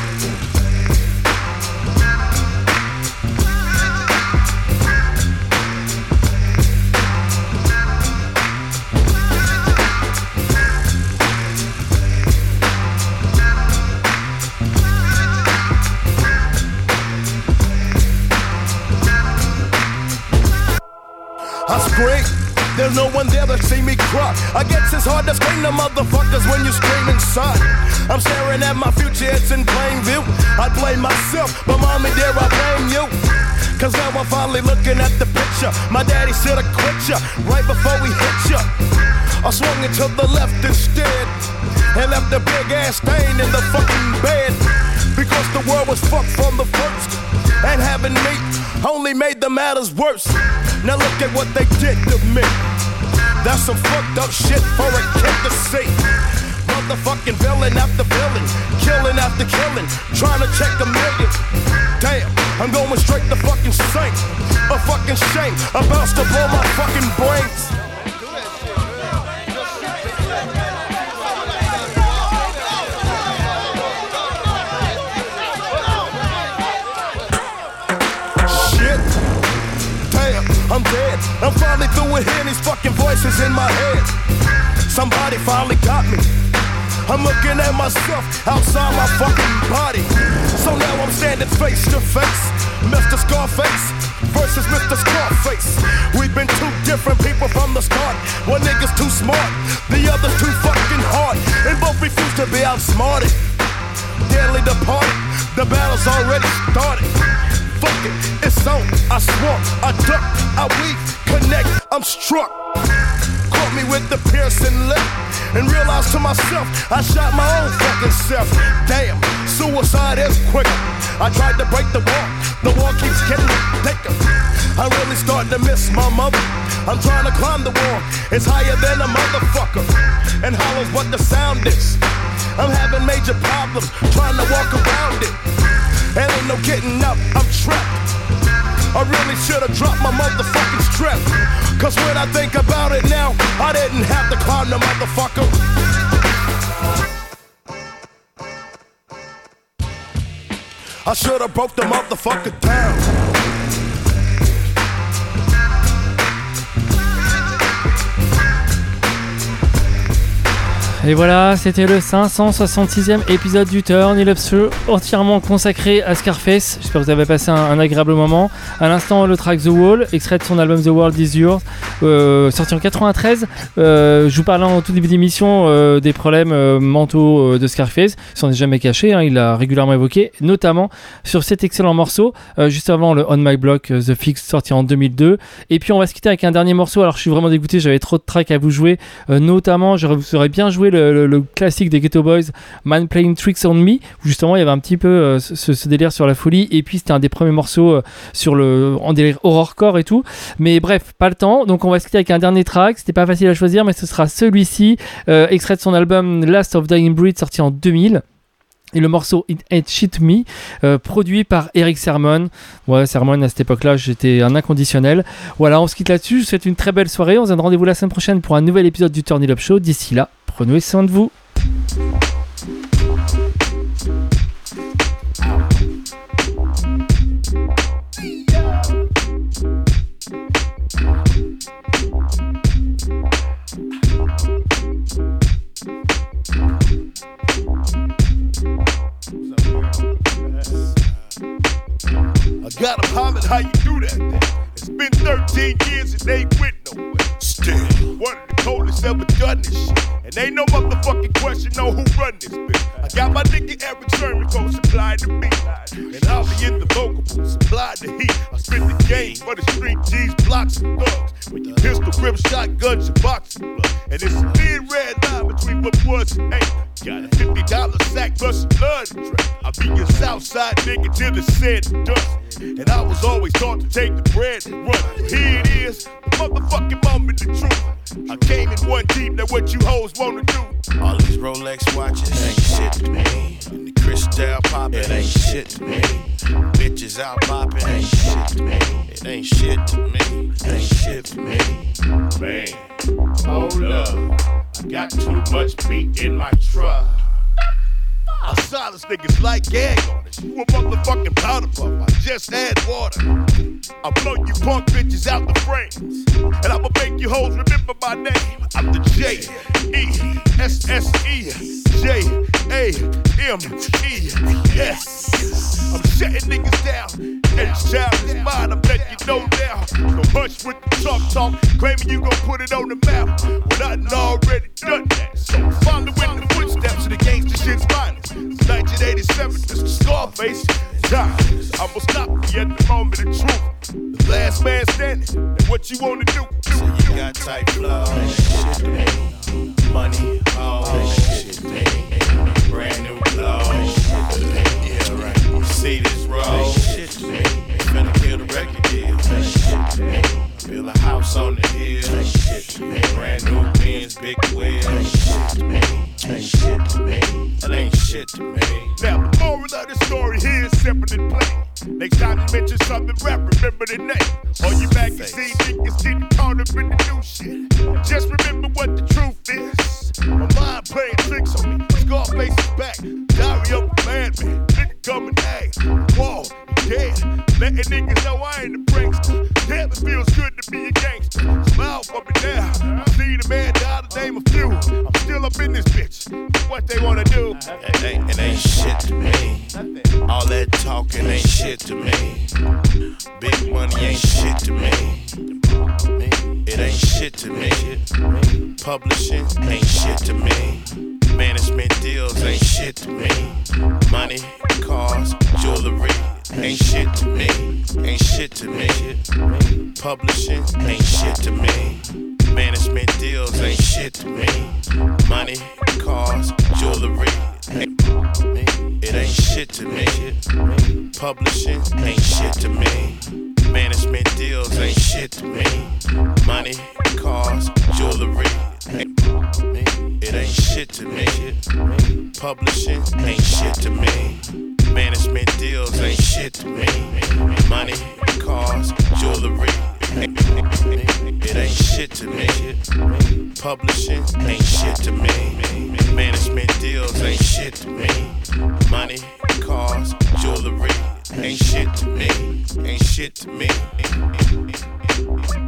I scream, there's no one there to see me cry. I guess it's hard to scream to motherfuckers when you scream inside. I'm staring at my future, it's in plain view. I blame myself, but mommy dear, I blame you. Cause now I'm finally looking at the picture. My daddy should've quit ya right before we hit ya. I swung it to the left instead and left a big ass stain in the fucking bed. Because the world was fucked from the first, and having me only made the matters worse. Now look at what they did to me. That's some fucked up shit for a kid to see. Motherfucking villain after villain, killing after killing, trying to check a million. Damn, I'm going straight to fucking sink. A fucking shame, about to blow my fucking brains. I'm dead, I'm finally through with hearing these fucking voices in my head. Somebody finally got me. I'm looking at myself outside my fucking body. So now I'm standing face to face, Mr. Scarface versus Mr. Scarface. We've been two different people from the start. One nigga's too smart, the other's too fucking hard, and both refuse to be outsmarted. Deadly departed, the battle's already started. Fuck it, it's on, I swung, I duck, I weave, connect, I'm struck. Caught me with the piercing lip and realized to myself, I shot my own fucking self. Damn, suicide is quicker. I tried to break the wall keeps getting thicker. I'm really starting to miss my mother. I'm trying to climb the wall, it's higher than a motherfucker, and hollow's what the sound is. I'm having major problems trying to walk around it. And ain't no getting up, I'm trapped. I really should've dropped my motherfucking strap. Cause when I think about it now, I didn't have to climb the motherfucker. I should've broke the motherfucker down. Et voilà, c'était le 566e épisode du Turn It Up Show, entièrement consacré à Scarface. J'espère que vous avez passé un agréable moment. À l'instant, le track The Wall, extrait de son album The World Is Yours, sorti en 93. Je vous parlais en tout début d'émission des problèmes mentaux de Scarface. Il s'en est jamais caché, hein, il l'a régulièrement évoqué, notamment sur cet excellent morceau, juste avant le On My Block, The Fix, sorti en 2002. Et puis on va se quitter avec un dernier morceau. Alors je suis vraiment dégoûté, j'avais trop de tracks à vous jouer, notamment j'aurais bien joué le classique des Ghetto Boys, Man Playing Tricks on Me, où justement il y avait un petit peu ce délire sur la folie, et puis c'était un des premiers morceaux en délire horrorcore et tout, mais bref, pas le temps, donc on va se quitter avec un dernier track. C'était pas facile à choisir, mais ce sera celui-ci, extrait de son album Last of Dying Breed, sorti en 2000. Et le morceau It Ain't Shit To Me, produit par Eric Sermon. Ouais, Sermon, à cette époque-là, j'étais un inconditionnel. Voilà, on se quitte là-dessus. Je vous souhaite une très belle soirée. On se donne rendez-vous la semaine prochaine pour un nouvel épisode du Turn It Up Show. D'ici là, prenez soin de vous. I gotta holler, how you do that? It's been 13 years and they ain't went nowhere. Still, one of the coldest ever done this shit. And ain't no motherfucking question on who run this bitch. I got my nigga Eric Sherman gon' supply the beat. And I'll be in the vocal booth, supply the heat. I spit the game for the street G's, blocks and thugs. When you pistol grip shotguns, you boxing blood. And it's a thin red line between what was and ain't. Got a $50 sack plus a blood drink. I be your Southside nigga till it's said and done. And I was always taught to take the bread and run. Here it is, the motherfucking moment, the truth. I came in one deep, now what you hoes wanna do? All these Rolex watches ain't shit to me. And the Cristal poppin', it ain't shit to me. Bitches out poppin', ain't shit to me. It ain't shit to me, it ain't shit to me. Man, hold up, I got too much beat in my truck. I silence niggas like gag artists. You a motherfucking powder puff, I just had water. I blow you punk bitches out the frames. And I'ma make you hoes remember my name. I'm the J-E-S-S-E-J-A-M-E-S. I'm shutting niggas down. And this child is mine, I bet you know now. Don't hush with the talk, claiming you gon' put it on the map. When I done already done that. So follow in the footsteps of the gangsta shit's finest. 1987, Mr. Scarface. I'ma stop you at the moment of truth. The last man standing, and what you wanna do? So you got tight flow, shit to me. Money, oh, shit to me. Brand new clothes, shit to me. Yeah, right. You see this road, shit to me. Finna kill the record deal, shit to me. Build a house on the hill, shit to me. Brand new Benz, big wheels, shit to me. Ain't shit to me. It ain't shit to me. Now the moral of the story here is simple and plain. Next time you mention something rap, remember the name. All you magazine niggas getting caught up in the new shit. Just remember what the truth is. My mind playing tricks on me. Scarface is back. Diary of a madman. Nigga come and act. Whoa, you dead. Letting niggas know I ain't a prankster. Damn, it feels good to be a gangster. Smile for me now. See the man die the name of few. I'm still up in this bitch. What they wanna do? It ain't shit to me. All that talking ain't shit to me. Big money ain't shit to me. It ain't shit to me. Publishing ain't shit to me. Management deals ain't shit to me. Money, cars, jewelry ain't shit to me. Ain't shit to me. Publishing ain't shit to me. Management deals ain't shit to me. Money, cars, jewelry. It ain't shit to me. Publishing ain't shit to me. Management deals ain't shit to me. Money, cars, jewelry. It ain't shit to me. Publishing ain't shit to me. Management deals ain't shit to me. Money, cars, jewelry. It ain't shit to me. Publishing ain't shit to me. Management deals ain't shit to me. Money, cars, jewelry. Ain't shit to me. Ain't shit to me.